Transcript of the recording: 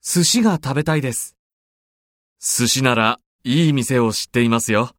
寿司が食べたいです。寿司ならいい店を知っていますよ。